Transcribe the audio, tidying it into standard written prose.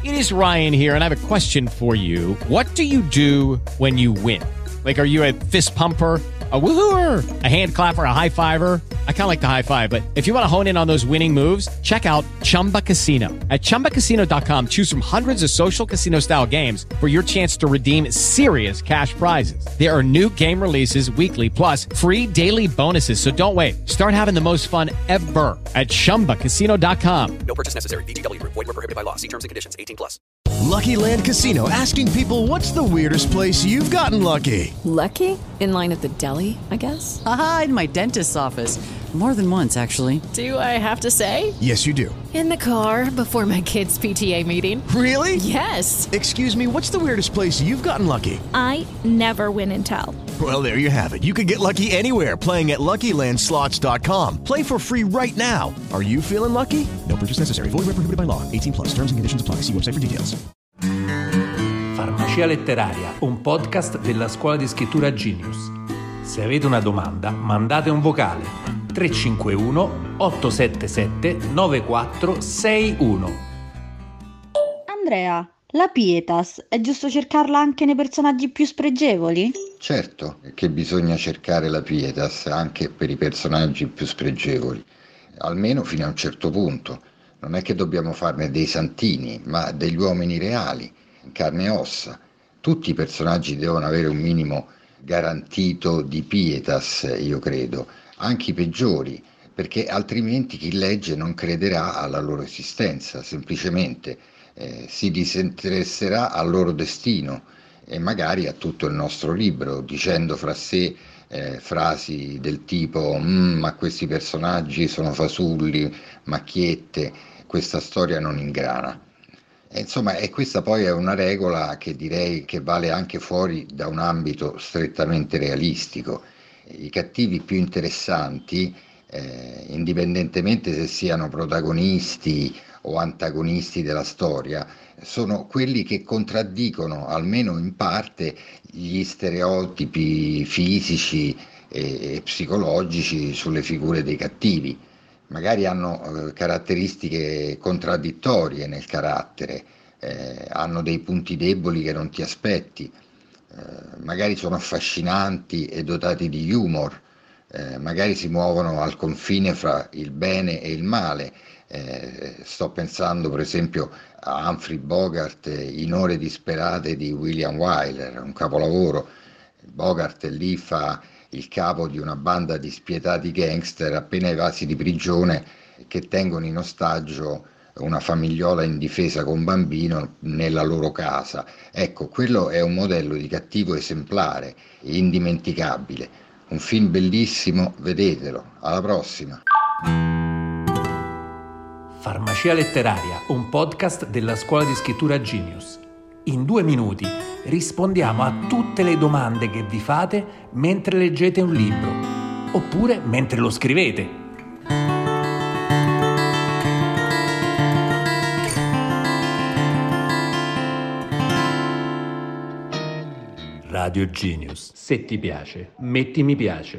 It is Ryan here, and I have a question for you. What do you do when you win? Like, are you a fist pumper, a woohooer, a hand clapper, a high fiver? I kind of like the high five, but if you want to hone in on those winning moves, check out Chumba Casino. At ChumbaCasino.com, choose from hundreds of social casino style games for your chance to redeem serious cash prizes. There are new game releases weekly, plus free daily bonuses. So don't wait. Start having the most fun ever at ChumbaCasino.com. No purchase necessary. VGW Group. Void where prohibited by law. See terms and conditions. 18 plus. Lucky Land Casino, asking people, what's the weirdest place you've gotten lucky? Lucky? In line at the deli, I guess? Aha, in my dentist's office. More than once, actually. Do I have to say? Yes, you do. In the car before my kids' PTA meeting. Really? Yes. Excuse me, what's the weirdest place you've gotten lucky? I never win and tell. Well, there you have it. You can get lucky anywhere, playing at LuckyLandSlots.com. Play for free right now. Are you feeling lucky? No purchase necessary. Void where prohibited by law. 18 plus. Terms and conditions apply. See website for details. Farmacia Letteraria, un podcast della scuola di scrittura Genius. Se avete una domanda, mandate un vocale 351 877 9461. Andrea, la Pietas, è giusto cercarla anche nei personaggi più spregevoli? Certo che bisogna cercare la Pietas anche per i personaggi più spregevoli, almeno fino a un certo punto. Non è che dobbiamo farne dei santini, ma degli uomini reali, in carne e ossa. Tutti i personaggi devono avere un minimo garantito di pietas, io credo, anche i peggiori, perché altrimenti chi legge non crederà alla loro esistenza, semplicemente si disinteresserà al loro destino e magari a tutto il nostro libro, dicendo fra sé frasi del tipo ma questi personaggi sono fasulli, macchiette, questa storia non ingrana. Insomma, e questa poi è una regola che direi che vale anche fuori da un ambito strettamente realistico. I cattivi più interessanti, indipendentemente se siano protagonisti o antagonisti della storia, sono quelli che contraddicono, almeno in parte, gli stereotipi fisici e psicologici sulle figure dei cattivi. Magari hanno caratteristiche contraddittorie nel carattere, hanno dei punti deboli che non ti aspetti, magari sono affascinanti e dotati di humor, magari si muovono al confine fra il bene e il male. Sto pensando per esempio a Humphrey Bogart in Ore disperate di William Wyler, un capolavoro. Bogart lì fa il capo di una banda di spietati gangster appena evasi di prigione che tengono in ostaggio una famigliola indifesa con bambino nella loro casa. Ecco, quello è un modello di cattivo esemplare, indimenticabile. Un film bellissimo, vedetelo. Alla prossima. Farmacia Letteraria, un podcast della scuola di scrittura Genius. In 2 minuti rispondiamo a tutte le domande che vi fate mentre leggete un libro, oppure mentre lo scrivete. Radio Genius. Se ti piace, metti mi piace.